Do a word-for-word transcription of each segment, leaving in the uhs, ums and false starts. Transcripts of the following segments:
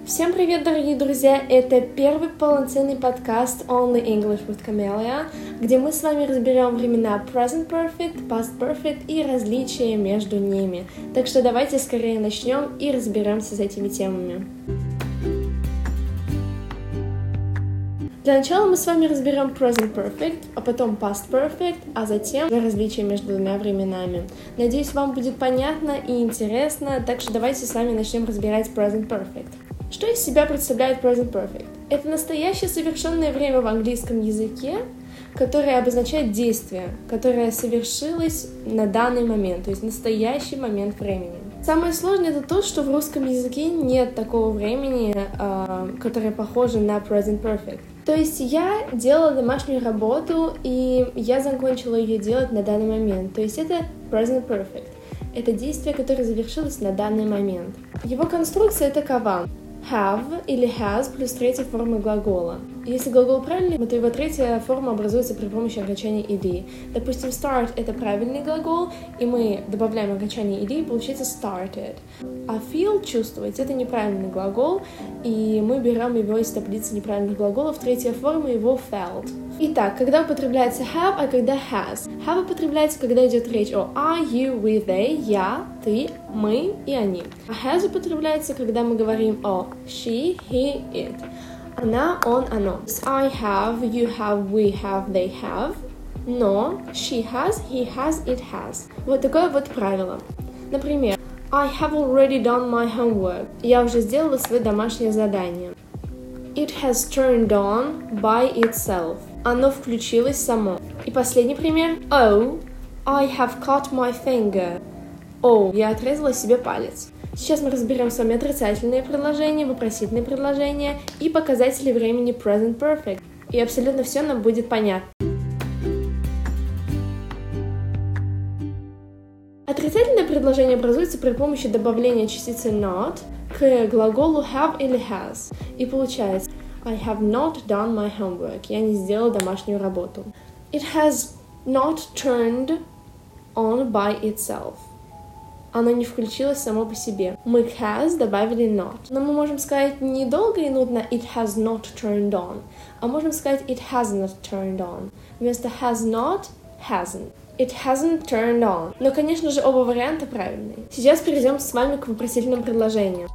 Всем привет, дорогие друзья! Это первый полноценный подкаст Only English with Camellia, где мы с вами разберем времена Present Perfect, Past Perfect и различия между ними. Так что давайте скорее начнем и разберемся с этими темами. Для начала мы с вами разберем Present Perfect, а потом Past Perfect, а затем различия между двумя временами. Надеюсь, вам будет понятно и интересно, так что давайте с вами начнем разбирать Present Perfect. Что из себя представляет Present Perfect? Это настоящее совершенное время в английском языке, которое обозначает действие, которое совершилось на данный момент, то есть настоящий момент времени. Самое сложное это то, что в русском языке нет такого времени, э, которое похоже на Present Perfect. То есть я делала домашнюю работу, и я закончила ее делать на данный момент. То есть это Present Perfect. Это действие, которое завершилось на данный момент. Его конструкция такова. Have или has плюс третья форма глагола. Если глагол правильный, то его третья форма образуется при помощи окончания ed. Допустим, start — это правильный глагол, и мы добавляем окончание ed, и получается started. А feel — чувствовать — это неправильный глагол, и мы берем его из таблицы неправильных глаголов, третья форма его felt. Итак, когда употребляется have, а когда has? Have употребляется, когда идет речь о I, you, we, they, я, ты, мы и они. А has употребляется, когда мы говорим о she, he, it. Она, он, оно. I have, you have, we have, they have. Но she has, he has, it has. Вот такое вот правило. Например, I have already done my homework. Я уже сделала свое домашнее задание. It has turned on by itself. Оно включилось само. И последний пример. Oh, I have cut my finger. О, oh, я отрезала себе палец. Сейчас мы разберем с вами отрицательные предложения, вопросительные предложения и показатели времени Present Perfect. И абсолютно все нам будет понятно. Отрицательное предложение образуется при помощи добавления частицы not к глаголу have или has. И получается I have not done my homework. Я не сделала домашнюю работу. It has not turned on by itself. Оно не включилось само по себе. Мы к has добавили not. Но мы можем сказать не долго и нудно it has not turned on, а можем сказать it has not turned on. Вместо has not — hasn't. It hasn't turned on. Но, конечно же, оба варианта правильные. Сейчас перейдем с вами к вопросительным предложениям.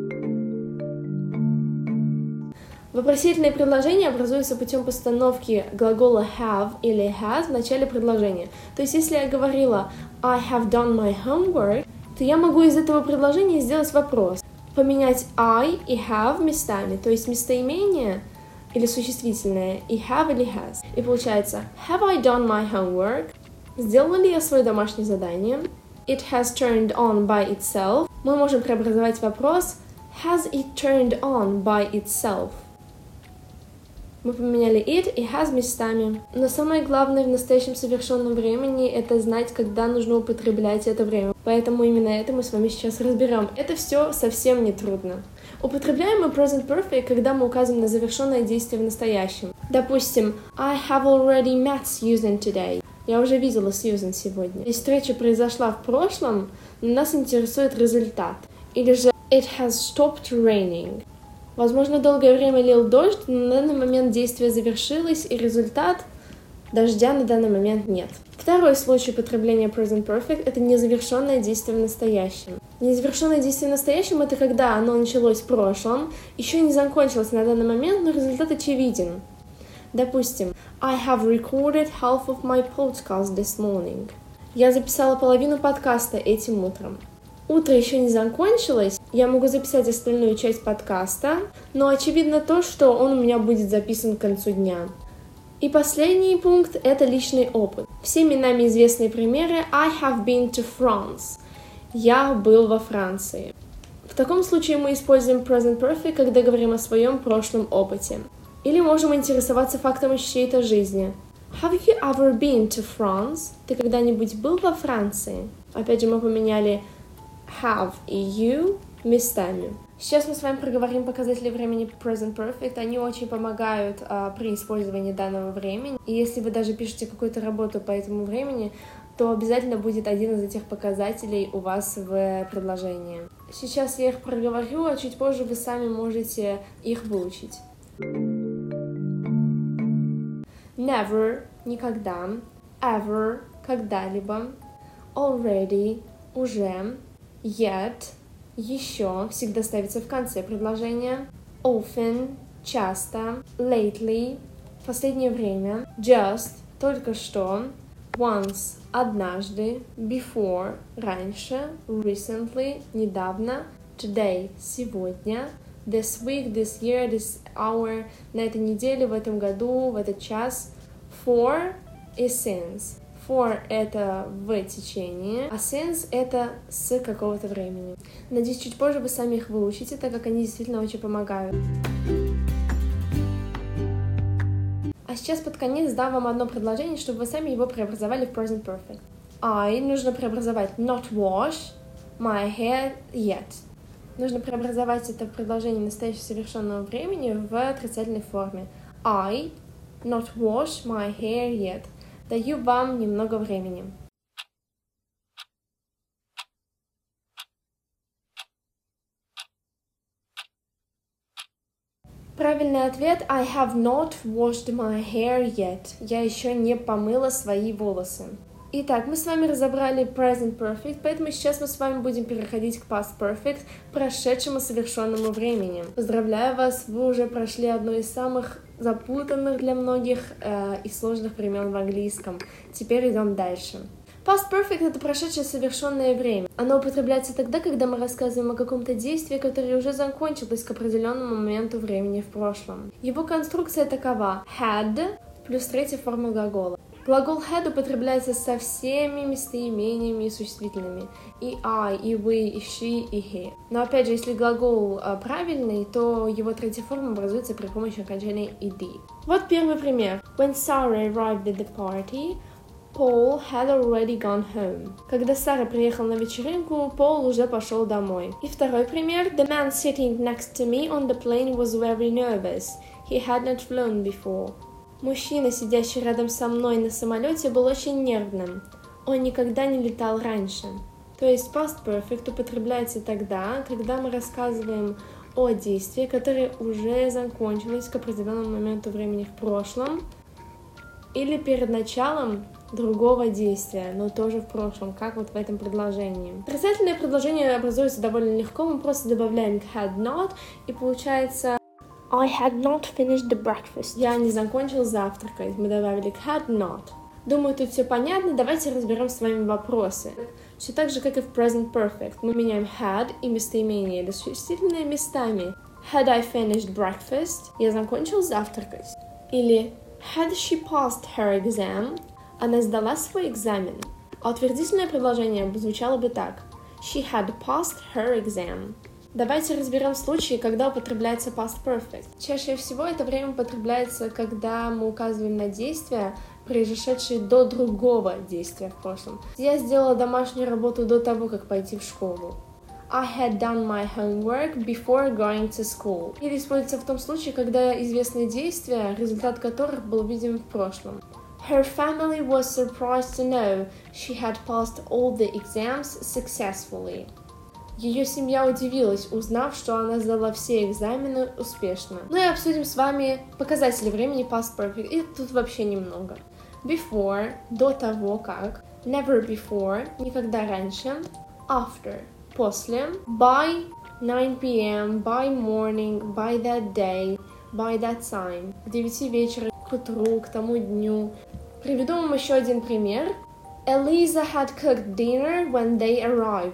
Вопросительные предложения образуются путем постановки глагола have или has в начале предложения. То есть, если я говорила I have done my homework, то я могу из этого предложения сделать вопрос. Поменять I и have местами, то есть местоимение или существительное и have или has. И получается have I done my homework? Сделала ли я свое домашнее задание? It has turned on by itself. Мы можем преобразовать вопрос has it turned on by itself? Мы поменяли it и has местами. Но самое главное в настоящем совершенном времени — это знать, когда нужно употреблять это время. Поэтому именно это мы с вами сейчас разберем. Это все совсем не трудно. Употребляем мы Present Perfect, когда мы указываем на завершенное действие в настоящем. Допустим, I have already met Susan today. Я уже видела Сьюзен сегодня. Если встреча произошла в прошлом, нас интересует результат. Или же it has stopped raining. Возможно, долгое время лил дождь, но на данный момент действие завершилось, и результат дождя на данный момент нет. Второй случай употребления Present Perfect — это незавершенное действие в настоящем. Незавершенное действие в настоящем — это когда оно началось в прошлом, еще не закончилось на данный момент, но результат очевиден. Допустим, I have recorded half of my podcast this morning. Я записала половину подкаста этим утром. Утро еще не закончилось, я могу записать остальную часть подкаста, но очевидно то, что он у меня будет записан к концу дня. И последний пункт — это личный опыт. Всеми нами известные примеры I have been to France. Я был во Франции. В таком случае мы используем Present Perfect, когда говорим о своем прошлом опыте. Или можем интересоваться фактом из чьей-то жизни. Have you ever been to France? Ты когда-нибудь был во Франции? Опять же, мы поменяли have и you местами. Сейчас мы с вами проговорим показатели времени Present Perfect. Они очень помогают а, при использовании данного времени. И если вы даже пишете какую-то работу по этому времени, то обязательно будет один из этих показателей у вас в предложении. Сейчас я их проговорю, а чуть позже вы сами можете их выучить. Never – никогда, ever – когда-либо, already – уже, yet – еще, всегда ставится в конце предложения, often – часто, lately – в последнее время, just – только что, once – однажды, before – раньше, recently – недавно, today – сегодня, this week, this year, this hour – на этой неделе, в этом году, в этот час, for и since. For – это в течение, а since – это с какого-то времени. Надеюсь, чуть позже вы сами их выучите, так как они действительно очень помогают. А сейчас под конец дам вам одно предложение, чтобы вы сами его преобразовали в present perfect. I нужно преобразовать not wash my hair yet. Нужно преобразовать это предложение настоящего совершенного времени в отрицательной форме. I not wash my hair yet. Даю вам немного времени. Правильный ответ I have not washed my hair yet. Я еще не помыла свои волосы. Итак, мы с вами разобрали present perfect, поэтому сейчас мы с вами будем переходить к past perfect, прошедшему совершенному времени. Поздравляю вас, вы уже прошли одно из самых запутанных для многих э, и сложных времен в английском. Теперь идем дальше. Past perfect — это прошедшее совершенное время. Оно употребляется тогда, когда мы рассказываем о каком-то действии, которое уже закончилось к определенному моменту времени в прошлом. Его конструкция такова: had плюс третья форма глагола. Глагол had употребляется со всеми местоимениями и существительными. И I, и we, и she, и he. Но опять же, если глагол а, правильный, то его третья форма образуется при помощи окончания ed. Вот первый пример. When Sarah arrived at the party, Paul had already gone home. Когда Сара приехала на вечеринку, Пол уже пошел домой. И второй пример. The man sitting next to me on the plane was very nervous. He had not flown before. Мужчина, сидящий рядом со мной на самолете, был очень нервным. Он никогда не летал раньше. То есть past perfect употребляется тогда, когда мы рассказываем о действии, которое уже закончилось к определенному моменту времени в прошлом, или перед началом другого действия, но тоже в прошлом, как вот в этом предложении. Отрицательное предложение образуется довольно легко, мы просто добавляем had not, и получается I had not finished the breakfast. Я не закончил завтракать. Мы добавили had not. Думаю, тут все понятно. Давайте разберем с вами вопросы. Все так же, как и в present perfect. Мы меняем had и местоимение или существительные местами. Had I finished breakfast? Я закончил завтракать. Или had she passed her exam? Она сдала свой экзамен. А утвердительное предложение звучало бы так. She had passed her exam. Давайте разберем случаи, когда употребляется past perfect. Чаще всего это время употребляется, когда мы указываем на действия, произошедшие до другого действия в прошлом. Я сделала домашнюю работу до того, как пойти в школу. I had done my homework before going to school. Или используется в том случае, когда известные действия, результат которых был видим в прошлом. Her family was surprised to know she had passed all the exams successfully. Ее семья удивилась, узнав, что она сдала все экзамены успешно. Ну и обсудим с вами показатели времени past perfect. И тут вообще немного. Before – до того как. Never before – никогда раньше. After – после. By nine p.m., by morning, by that day, by that time. К девяти вечера, к утру, к тому дню. Приведу вам еще один пример. Eliza had cooked dinner when they arrived.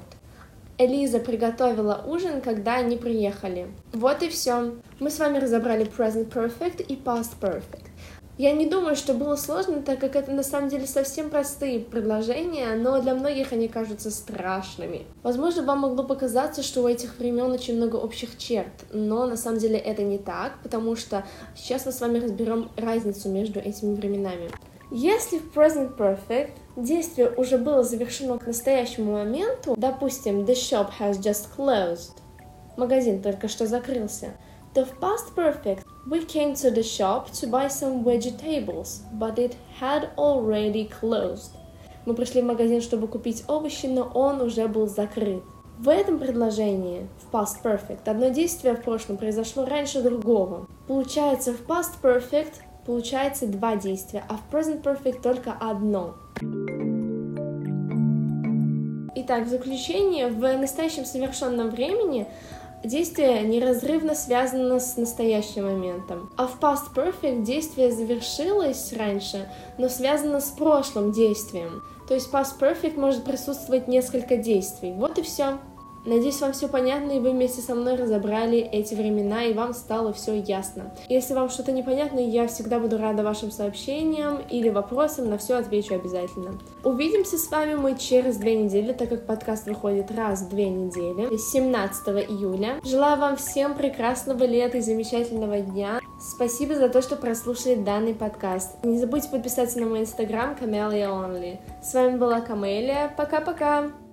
Элиза приготовила ужин, когда они приехали. Вот и все. Мы с вами разобрали present perfect и past perfect. Я не думаю, что было сложно, так как это на самом деле совсем простые предложения, но для многих они кажутся страшными. Возможно, вам могло показаться, что у этих времен очень много общих черт, но на самом деле это не так, потому что сейчас мы с вами разберем разницу между этими временами. Если в present perfect действие уже было завершено к настоящему моменту, допустим, the shop has just closed, магазин только что закрылся, то в past perfect we came to the shop to buy some vegetables, but it had already closed. Мы пришли в магазин, чтобы купить овощи, но он уже был закрыт. В этом предложении, в past perfect, одно действие в прошлом произошло раньше другого. Получается, в past perfect получается два действия, а в present perfect только одно. Итак, в заключение, в настоящем совершенном времени действие неразрывно связано с настоящим моментом. А в past perfect действие завершилось раньше, но связано с прошлым действием. То есть past perfect может присутствовать несколько действий. Вот и все. Надеюсь, вам все понятно, и вы вместе со мной разобрали эти времена, и вам стало все ясно. Если вам что-то непонятно, я всегда буду рада вашим сообщениям или вопросам, на все отвечу обязательно. Увидимся с вами мы через две недели, так как подкаст выходит раз в две недели, семнадцатого июля. Желаю вам всем прекрасного лета и замечательного дня. Спасибо за то, что прослушали данный подкаст. Не забудьте подписаться на мой инстаграм Camellia Only. С вами была Камелия. Пока-пока!